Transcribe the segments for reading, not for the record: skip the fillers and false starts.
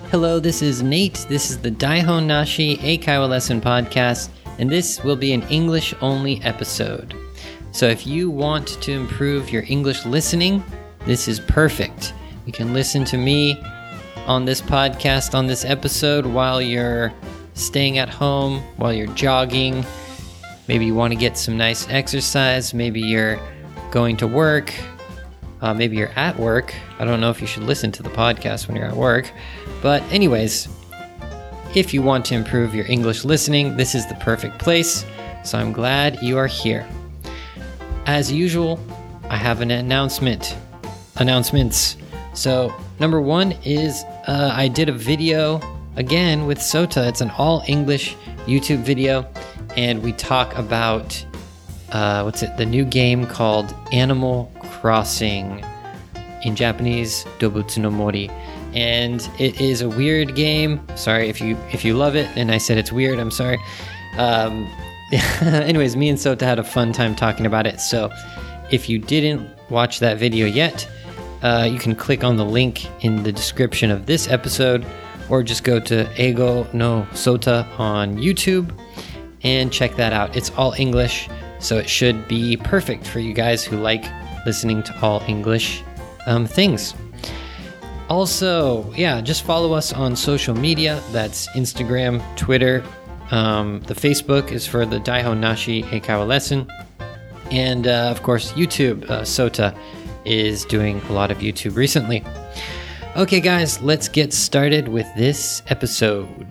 Hello, this is Nate. This is the Daihon Nashi Eikaiwa Lesson Podcast, and this will be an English-only episode. So if you want to improve your English listening, this is perfect. You can listen to me on this podcast, on this episode, while you're staying at home, while you're jogging. Maybe you want to get some nice exercise. Maybe you're going to work. Maybe you're at work. I don't know if you should listen to the podcast when you're at work. But anyways, if you want to improve your English listening, this is the perfect place. So I'm glad you are here. As usual, I have an announcements. So number one is I did a video again with Sota. It's an all English YouTube video. And we talk about, the new game called Animal Crossing, in Japanese, Dobutsu no Mori. And it is a weird game. Sorry if you love it and I said it's weird, I'm sorry. Anyways, me and Sota had a fun time talking about it. So if you didn't watch that video yet, you can click on the link in the description of this episode, or just go to Eigo no Sota on YouTube and check that out. It's all English, so it should be perfect for you guys who like listening to all English things. Also, just follow us on social media. That's Instagram, Twitter. The Facebook is for the Daihon Nashi Eikaiwa Lesson. And of course, YouTube. Sota is doing a lot of YouTube recently. Okay, guys, let's get started with this episode.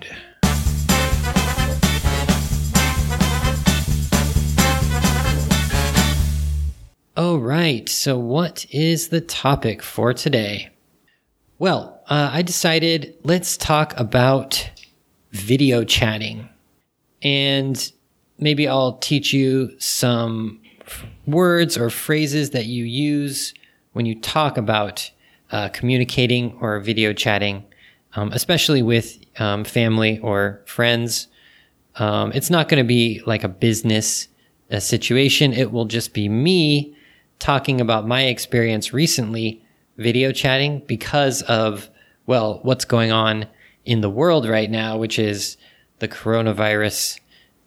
All right, so what is the topic for today? Well, I decided let's talk about video chatting. And maybe I'll teach you some words or phrases that you use when you talk about communicating or video chatting, especially with family or friends. It's not going to be like a business situation. It will just be me talking about my experience recently video chatting because of, what's going on in the world right now, which is the coronavirus,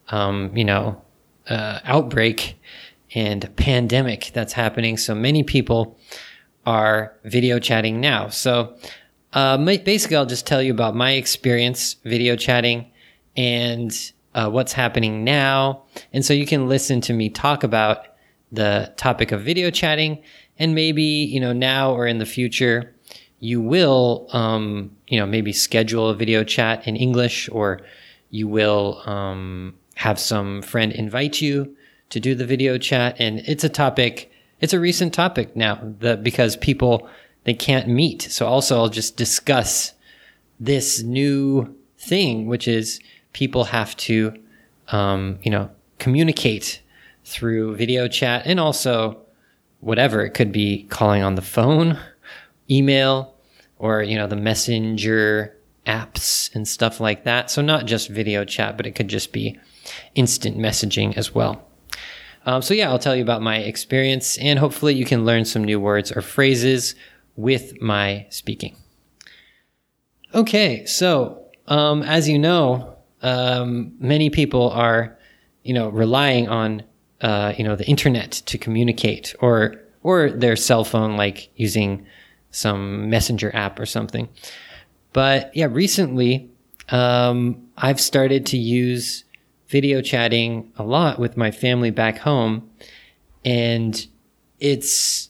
outbreak and pandemic that's happening. So many people are video chatting now. So basically, I'll just tell you about my experience video chatting and what's happening now. And so you can listen to me talk about the topic of video chatting, and maybe, now or in the future, you will, maybe schedule a video chat in English, or you will have some friend invite you to do the video chat. And it's a recent topic now because people, they can't meet. So also I'll just discuss this new thing, which is people have to, communicate through video chat, and also whatever. It could be calling on the phone, email, or, the messenger apps and stuff like that. So not just video chat, but it could just be instant messaging as well. I'll tell you about my experience, and hopefully you can learn some new words or phrases with my speaking. Okay, so as you know, many people are, relying on the internet to communicate, or their cell phone, like using some messenger app or something. But recently, I've started to use video chatting a lot with my family back home, and it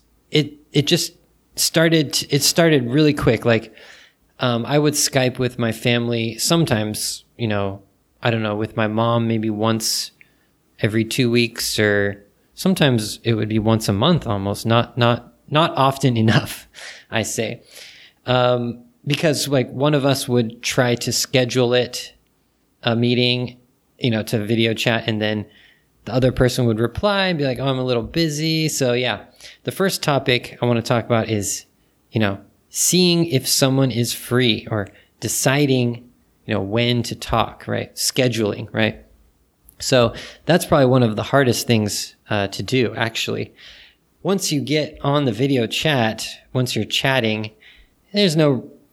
started really quick. Like, I would Skype with my family sometimes, with my mom, maybe once every 2 weeks, or sometimes it would be once a month almost, not often enough, I say. Because one of us would try to schedule a meeting, to video chat, and then the other person would reply and be like, oh, I'm a little busy. So the first topic I want to talk about is, seeing if someone is free, or deciding, when to talk, right? Scheduling, right? So that's probably one of the hardest things to do, actually. Once you get on the video chat, once you're chatting, there's no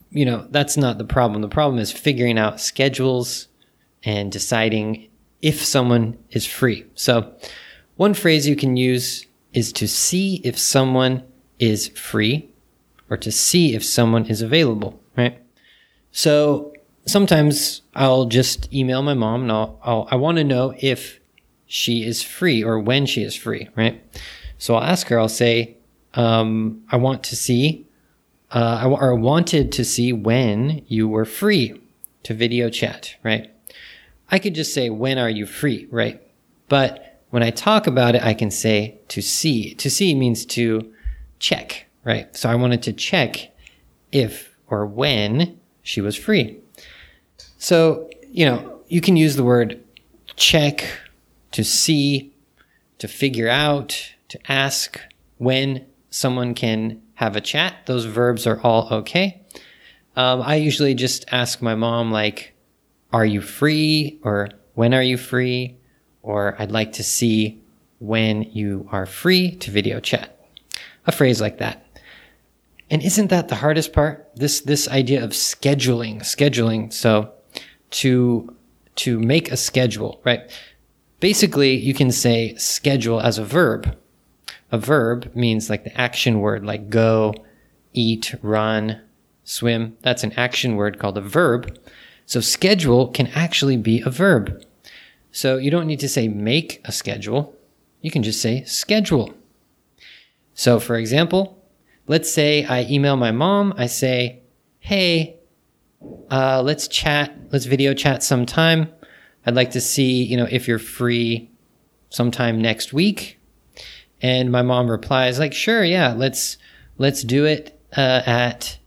that's not the problem. The problem is figuring out schedules and deciding if someone is free. So one phrase you can use is to see if someone is free, or to see if someone is available, right? So sometimes I'll just email my mom and I want to know if she is free or when she is free, right? So I'll ask her, I'll say, I want to see, I wanted to see when you were free to video chat, right? I could just say, when are you free, right? But when I talk about it, I can say to see. To see means to check, right? So I wanted to check if or when she was free. So, you can use the word check, to see, to figure out, to ask when someone can have a chat. Those verbs are all okay. I usually just ask my mom, like, are you free? Or when are you free? Or I'd like to see when you are free to video chat. A phrase like that. And isn't that the hardest part? This idea of scheduling. So to make a schedule, right? Basically, you can say schedule as a verb. A verb means like the action word, like go, eat, run, swim. That's an action word called a verb. So schedule can actually be a verb. So you don't need to say make a schedule. You can just say schedule. So for example, let's say I email my mom. I say, hey, let's video chat sometime. I'd like to see, if you're free sometime next week. And my mom replies like, sure, yeah, let's do it at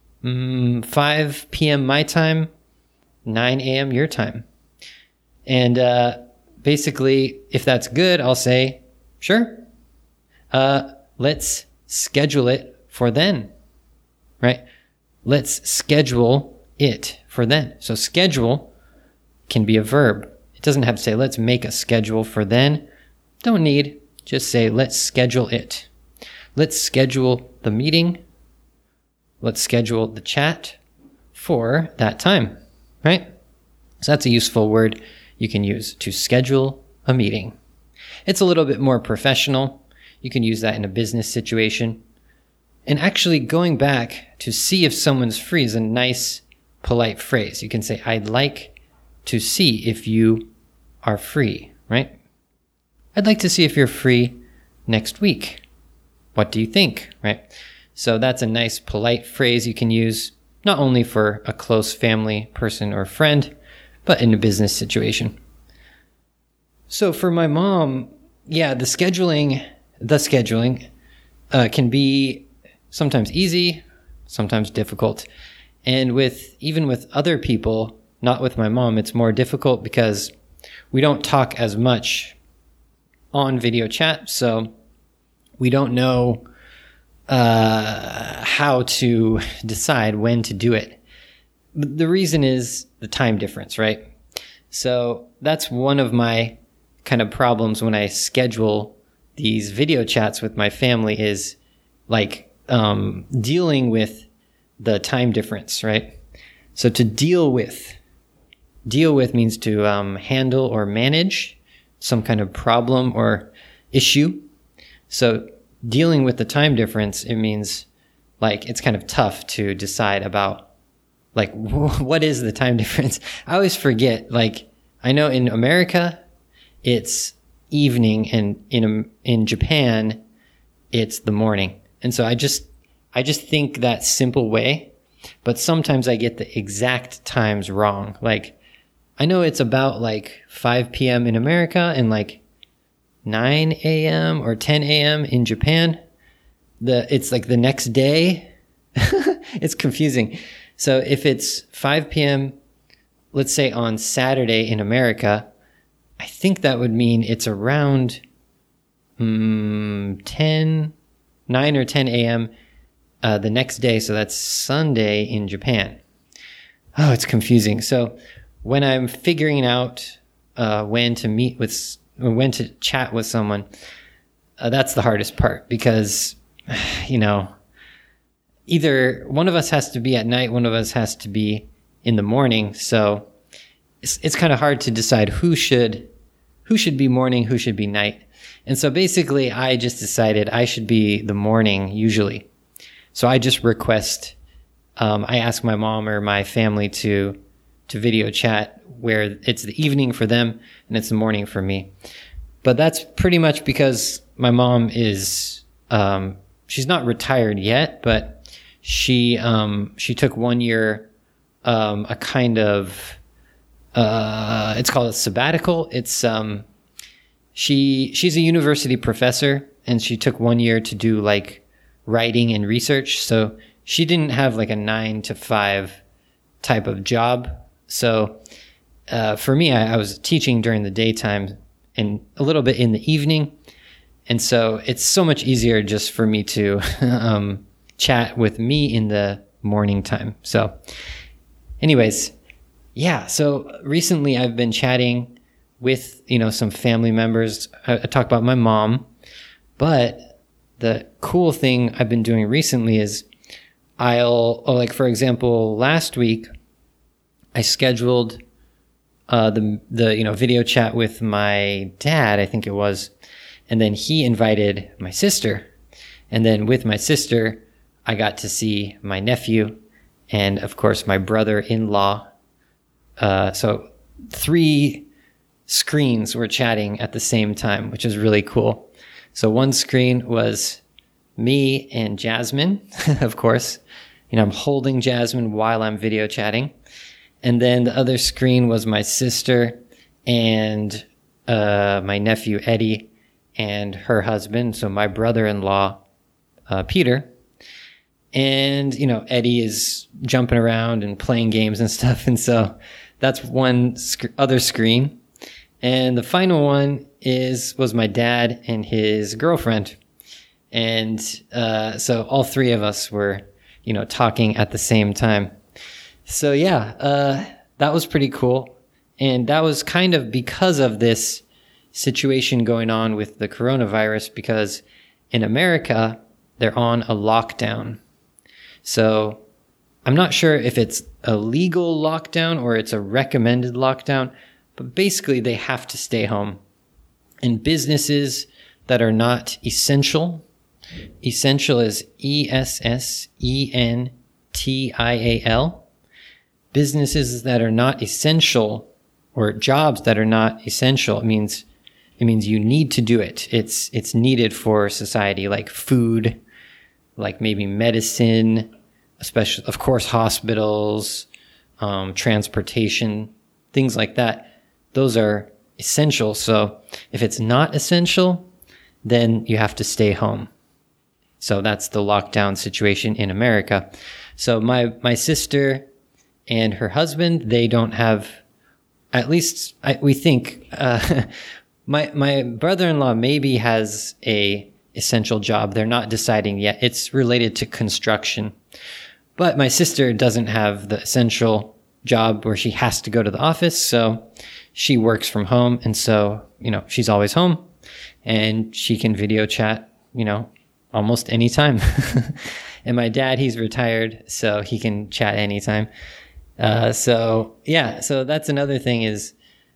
5 p.m. my time, 9 a.m. your time. And basically, if that's good, I'll say, sure. Let's schedule it for then, right? Let's schedule it for then. So schedule can be a verb. It doesn't have to say, let's make a schedule for then. Don't need. Just say, let's schedule it. Let's schedule the meeting. Let's schedule the chat for that time, right? So that's a useful word you can use to schedule a meeting. It's a little bit more professional. You can use that in a business situation. And actually going back to see if someone's free is a nice, polite phrase. You can say, I'd like to see if you are free, right? I'd like to see if you're free next week. What do you think, right? So that's a nice, polite phrase you can use not only for a close family person or friend, but in a business situation. So for my mom, yeah, the scheduling can be sometimes easy, sometimes difficult. And even with other people, not with my mom, it's more difficult because we don't talk as much on video chat. So we don't know how to decide when to do it. But the reason is the time difference, right? So that's one of my kind of problems when I schedule these video chats with my family is like dealing with the time difference, right? So to deal with means to handle or manage some kind of problem or issue. So dealing with the time difference, it means like it's kind of tough to decide about like what is the time difference. I always forget, like I know in America it's evening and in Japan it's the morning. And so I just think that simple way, but sometimes I get the exact times wrong. Like I know it's about like 5 p.m. in America and like 9 a.m. or 10 a.m. in Japan. It's like the next day. It's confusing. So if it's 5 p.m., let's say on Saturday in America, I think that would mean it's around 9 or 10 a.m. The next day. So that's Sunday in Japan. Oh, it's confusing. So when I'm figuring out when to chat with someone, that's the hardest part because, either one of us has to be at night, one of us has to be in the morning. So it's kind of hard to decide who should be morning, who should be night. And so basically I just decided I should be the morning usually. So I just request, I ask my mom or my family to video chat where it's the evening for them and it's the morning for me. But that's pretty much because my mom is, she's not retired yet, but she took 1 year, a kind of, it's called a sabbatical. It's, she's a university professor and she took 1 year to do like writing and research. So she didn't have like a 9 to 5 type of job. So, for me, I was teaching during the daytime and a little bit in the evening. And so it's so much easier just for me to, chat with me in the morning time. So anyways, yeah. So recently I've been chatting with, some family members. I talk about my mom, but the cool thing I've been doing recently is for example, last week I scheduled the video chat with my dad, I think it was, and then he invited my sister, and then with my sister I got to see my nephew and of course my brother-in-law. So 3 screens were chatting at the same time, which is really cool. So one screen was me and Jasmine, of course. I'm holding Jasmine while I'm video chatting. And then the other screen was my sister and my nephew, Eddie, and her husband. So my brother-in-law, Peter. And, Eddie is jumping around and playing games and stuff. And so that's one other screen. And the final one was my dad and his girlfriend. And so all 3 of us were, talking at the same time. So yeah, that was pretty cool. And that was kind of because of this situation going on with the coronavirus, because in America, they're on a lockdown. So I'm not sure if it's a legal lockdown or it's a recommended lockdown, but basically they have to stay home. And businesses that are not essential is ESSENTIAL. Businesses that are not essential, or jobs that are not essential, it means you need to do it. It's needed for society, like food, like maybe medicine, especially, of course, hospitals, transportation, things like that. Those are essential. So if it's not essential, then you have to stay home. So that's the lockdown situation in America. So my sister and her husband, they don't have, at least we think, my brother-in-law maybe has a essential job. They're not deciding yet. It's related to construction. But my sister doesn't have the essential job where she has to go to the office. So she works from home. And so, she's always home and she can video chat, almost anytime. And my dad, he's retired, so he can chat anytime. So that's another thing is,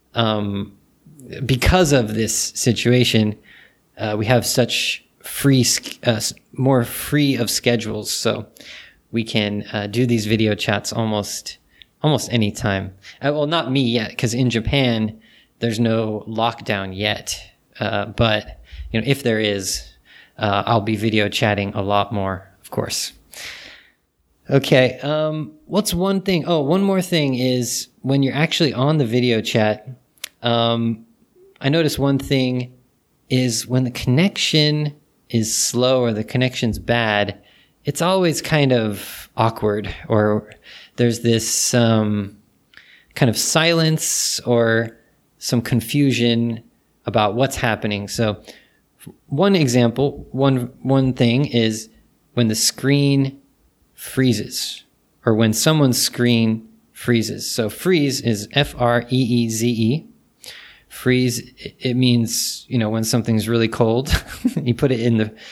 because of this situation, we have such more free of schedules. So we can do these video chats almost any time. Well, not me yet, because in Japan there's no lockdown yet. But if there is, I'll be video chatting a lot more, of course. Okay. What's one thing? Oh, one more thing is when you're actually on the video chat. I noticed one thing is when the connection is slow or the connection's bad, it's always kind of awkward, or there's this kind of silence or some confusion about what's happening. So one example, one thing is when the screen freezes, or when someone's screen freezes. So freeze is Freeze. Freeze, it means, when something's really cold, you put it in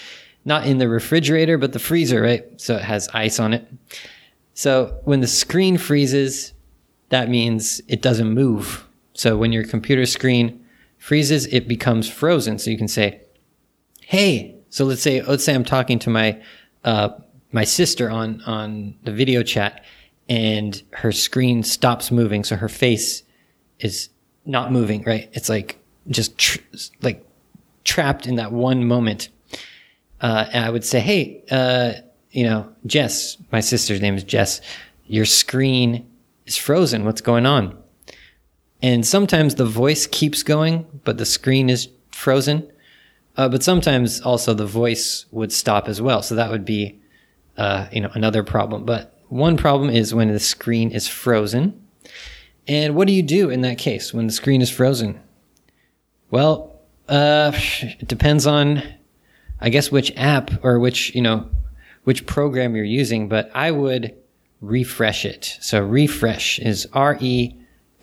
not in the refrigerator, but the freezer, right? So it has ice on it. So when the screen freezes, that means it doesn't move. So when your computer screen freezes, it becomes frozen. So you can say, hey, so let's say I'm talking to my sister on the video chat, and her screen stops moving. So her face is not moving, right? It's like just trapped in that one moment. And I would say, hey, Jess, my sister's name is Jess, your screen is frozen. What's going on? And sometimes the voice keeps going, but the screen is frozen. But sometimes also the voice would stop as well. So that would be, another problem. But one problem is when the screen is frozen. And what do you do in that case when the screen is frozen? Well, it depends on, I guess, which app or which program you're using, but I would refresh it. So refresh is refresh,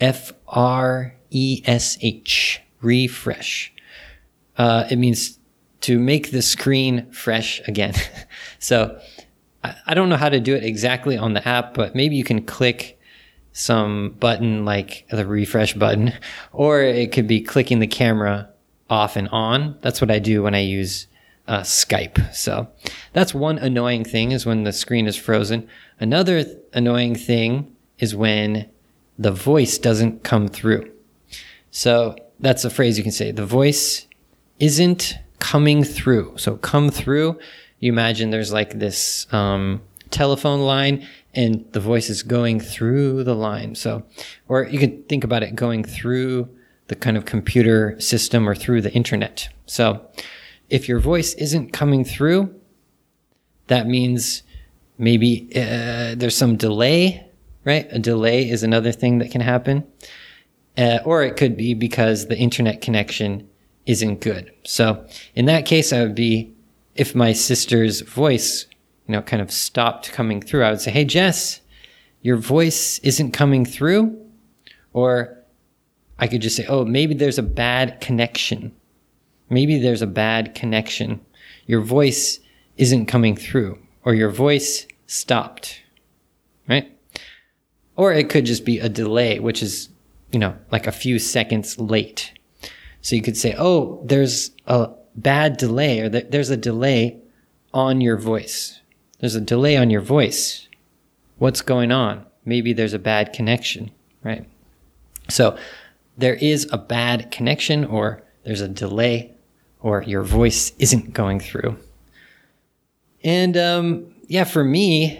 refresh. It means to make the screen fresh again. So I don't know how to do it exactly on the app, but maybe you can click some button like the refresh button, or it could be clicking the camera off and on. That's what I do when I use Skype. So that's one annoying thing, is when the screen is frozen. Another annoying thing is when the voice doesn't come through. So that's a phrase you can say. The voice isn't coming through. So come through, you imagine there's like this telephone line and the voice is going through the line. So, or you could think about it going through the kind of computer system or through the internet. So if your voice isn't coming through, that means maybe there's some delay, right? A delay is another thing that can happen. Or it could be because the internet connection isn't good. So in that case, I would be, if my sister's voice, kind of stopped coming through, I would say, hey, Jess, your voice isn't coming through. Or I could just say, oh, maybe there's a bad connection. Maybe there's a bad connection. Your voice isn't coming through, or your voice stopped, right? Or it could just be a delay, which is, like a few seconds late. So you could say, oh, there's a bad delay, or there's a delay on your voice. There's a delay on your voice. What's going on? Maybe there's a bad connection, right? So there is a bad connection, or there's a delay, or your voice isn't going through. And for me,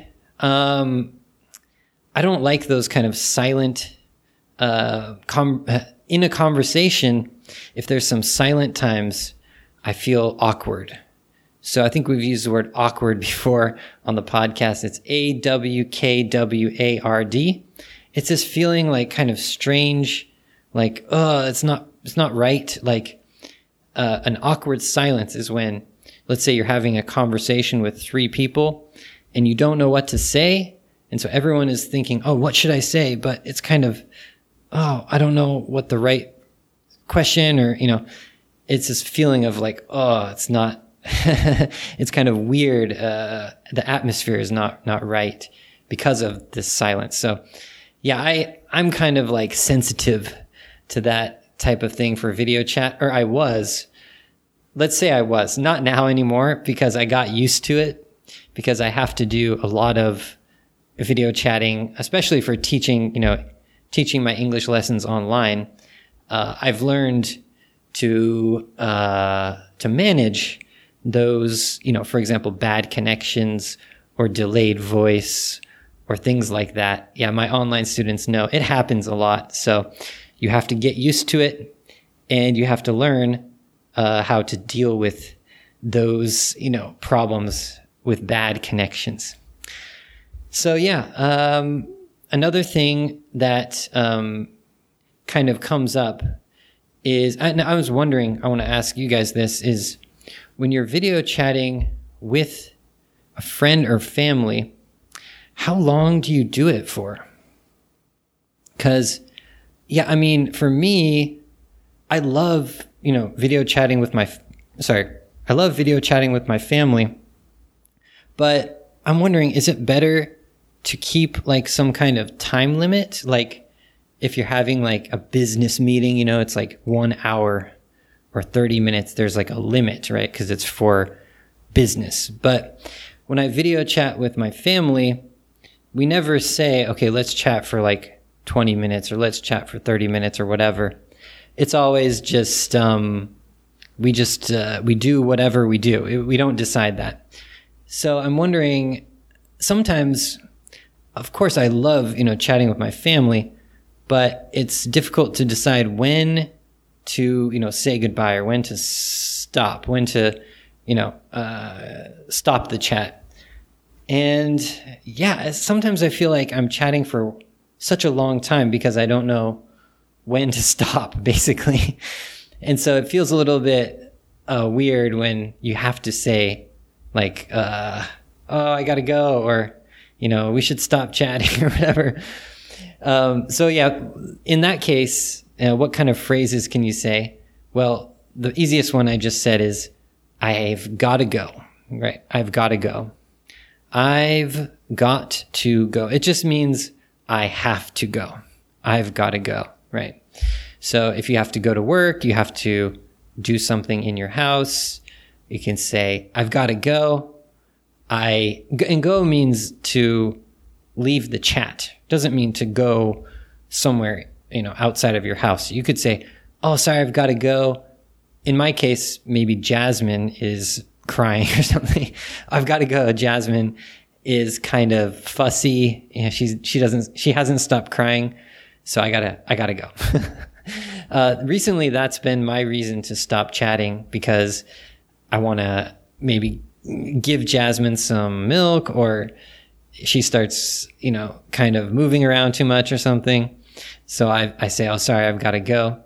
I don't like those kind of silent, in a conversation, if there's some silent times, I feel awkward. So I think we've used the word awkward before on the podcast. It's AWKWARD. It's this feeling like kind of strange, like, it's not right. Like, an awkward silence is when, let's say you're having a conversation with 3 people and you don't know what to say. And so everyone is thinking, oh, what should I say? But it's kind of, I don't know what the right question, or, it's this feeling of like, it's not, it's kind of weird. The atmosphere is not right because of this silence. So yeah, I'm kind of like sensitive to that type of thing for video chat, or I was, not now anymore, because I got used to it, because I have to do a lot of video chatting, especially for teaching my English lessons online. I've learned to manage those, for example, bad connections or delayed voice or things like that. Yeah, my online students know it happens a lot. So you have to get used to it, and you have to learn how to deal with those, problems with bad connections. So yeah, another thing that kind of comes up is, I was wondering, I want to ask you guys this, is when you're video chatting with a friend or family, how long do you do it for? Because, for me, I love, video chatting with I love video chatting with my family, but I'm wondering, is it better to keep like some kind of time limit? Like if you're having like a business meeting, it's like 1 hour or 30 minutes, there's like a limit, right? Because it's for business. But when I video chat with my family, we never say, okay, let's chat for like 20 minutes or let's chat for 30 minutes or whatever. It's always just, we do whatever we do. We don't decide that. So I'm wondering, sometimes, of course, I love, chatting with my family, but it's difficult to decide when to, say goodbye or when to stop, when to, stop the chat. And yeah, sometimes I feel like I'm chatting for such a long time because I don't know when to stop, basically. And so it feels a little bit weird when you have to say like, oh, I gotta go, or, we should stop chatting or whatever. So yeah, in that case, what kind of phrases can you say? Well, the easiest one I just said is, I've gotta go, right? I've gotta go. I've got to go. It just means I have to go. I've gotta go, right? So if you have to go to work, you have to do something in your house, you can say, I've gotta go. And go means to leave the chat. Doesn't mean to go somewhere, outside of your house. You could say, oh, sorry, I've got to go. In my case, maybe Jasmine is crying or something. I've got to go. Jasmine is kind of fussy. She hasn't stopped crying. So I gotta go. Recently, that's been my reason to stop chatting, because I want to maybe give Jasmine some milk, or she starts, kind of moving around too much or something. So I say, oh, sorry, I've got to go.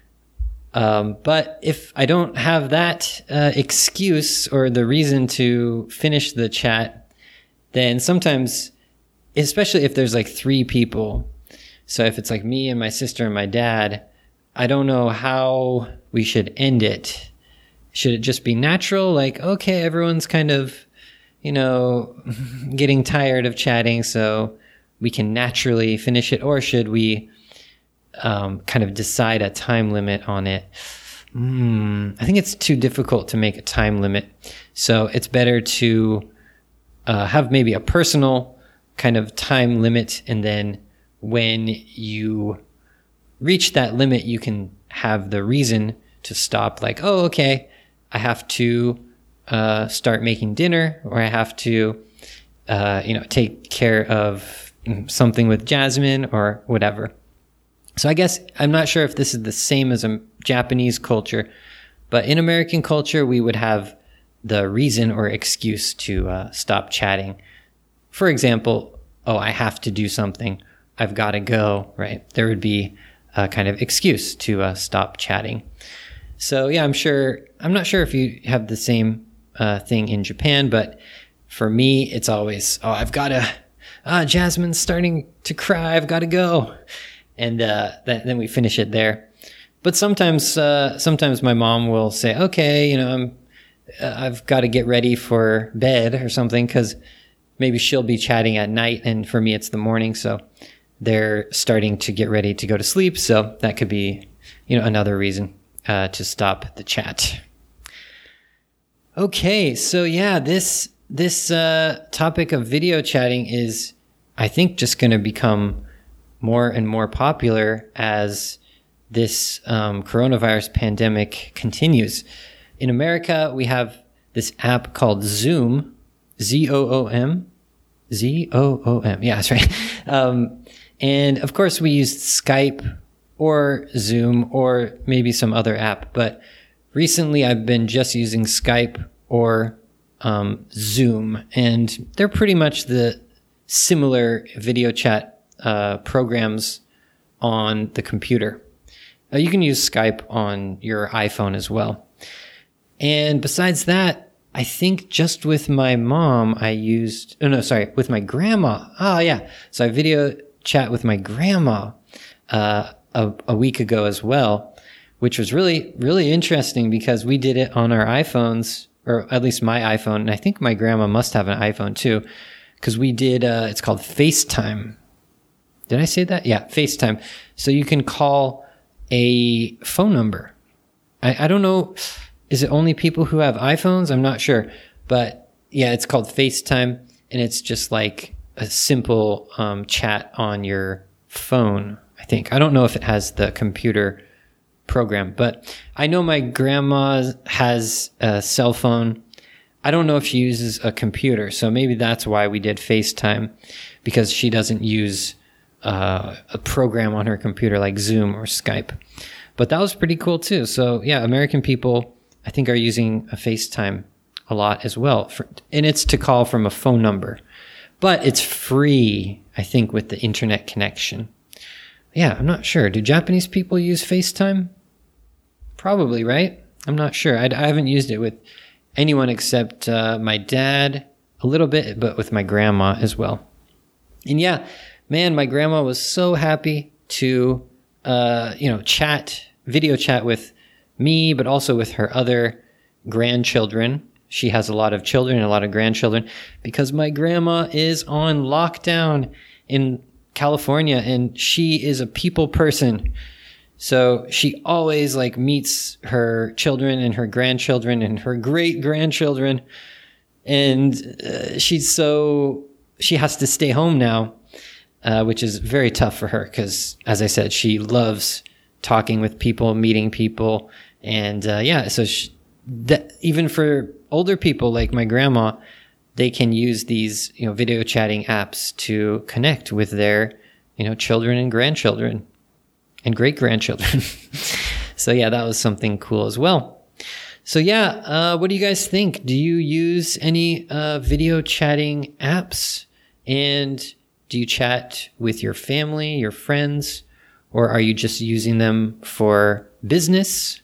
But if I don't have that excuse or the reason to finish the chat, then sometimes, especially if there's like 3 people, so if it's like me and my sister and my dad, I don't know how we should end it. Should it just be natural? Like, okay, everyone's kind of, getting tired of chatting, so we can naturally finish it? Or should we kind of decide a time limit on it? I think it's too difficult to make a time limit. So it's better to have maybe a personal kind of time limit, and then when you reach that limit, you can have the reason to stop, like, oh, okay, I have to start making dinner, or I have to, take care of something with Jasmine or whatever. So I guess I'm not sure if this is the same as a Japanese culture, but in American culture, we would have the reason or excuse to stop chatting. For example, oh, I have to do something. I've got to go, right? There would be a kind of excuse to stop chatting. So yeah, I'm not sure if you have the same thing in Japan, but for me, it's always, oh, I've got to, Jasmine's starting to cry, I've got to go. And then we finish it there. But sometimes my mom will say, okay, I've got to get ready for bed or something, because maybe she'll be chatting at night, and for me it's the morning, so they're starting to get ready to go to sleep. So that could be, another reason to stop the chat. Okay, so yeah, this topic of video chatting is, I think, just going to become more and more popular as this coronavirus pandemic continues. In America, we have this app called Zoom, Zoom. Zoom. Yeah, that's right. And of course, we used Skype or Zoom or maybe some other app. But recently, I've been just using Skype or Zoom. And they're pretty much the similar video chat programs on the computer. You can use Skype on your iPhone as well. And besides that, I think just with my mom, with my grandma. Oh, yeah. So I video chat with my grandma a week ago as well, which was really, really interesting because we did it on our iPhones or at least my iPhone, and I think my grandma must have an iPhone too, because we did, it's called FaceTime. Did I say that? Yeah, FaceTime. So you can call a phone number. I don't know, is it only people who have iPhones? I'm not sure. But yeah, it's called FaceTime, and it's just like a simple chat on your phone, I think. I don't know if it has the computer program, but I know my grandma has a cell phone. I don't know if she uses a computer, so maybe that's why we did FaceTime, because she doesn't use a program on her computer like Zoom or Skype. But that was pretty cool too. So yeah, American people, I think, are using a FaceTime a lot as well. And it's to call from a phone number. But it's free, I think, with the internet connection. Yeah, I'm not sure. Do Japanese people use FaceTime? Probably, right? I'm not sure. I haven't used it with anyone except my dad a little bit, but with my grandma as well. And yeah, man, my grandma was so happy to video chat with me, but also with her other grandchildren. She has a lot of children and a lot of grandchildren, because my grandma is on lockdown in California, and she is a people person. So she always meets her children and her grandchildren and her great grandchildren. And she has to stay home now, which is very tough for her, because, as I said, she loves talking with people, meeting people. And so even for older people like my grandma, they can use these video chatting apps to connect with their children and grandchildren and great grandchildren. So yeah, that was something cool as well. So yeah, what do you guys think? Do you use any video chatting apps? And do you chat with your family, your friends, or are you just using them for business?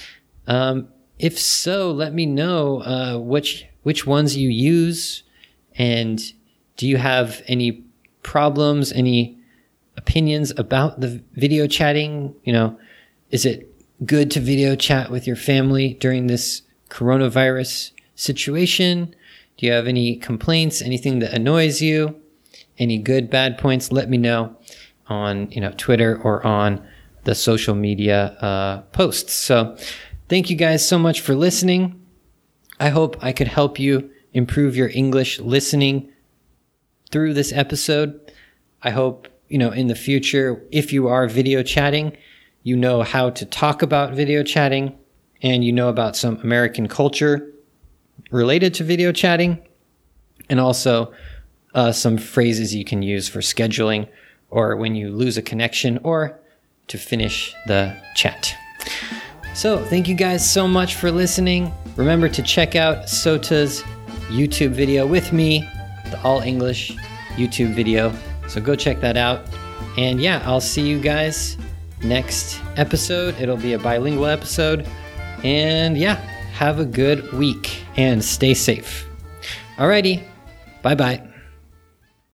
If so, let me know which ones you use, and do you have any problems, any opinions about the video chatting? Is it good to video chat with your family during this coronavirus situation? Do you have any complaints, anything that annoys you? Any good, bad points? Let me know on Twitter or on the social media posts. So thank you guys so much for listening. I hope I could help you improve your English listening through this episode. I hope, in the future, if you are video chatting, you know how to talk about video chatting, and you know about some American culture related to video chatting, and also some phrases you can use for scheduling, or when you lose a connection, or to finish the chat. So thank you guys so much for listening. Remember to check out Sota's YouTube video with me, the All English YouTube video. So go check that out. And yeah, I'll see you guys next episode. It'll be a bilingual episode. And yeah, have a good week and stay safe. Alrighty, bye-bye.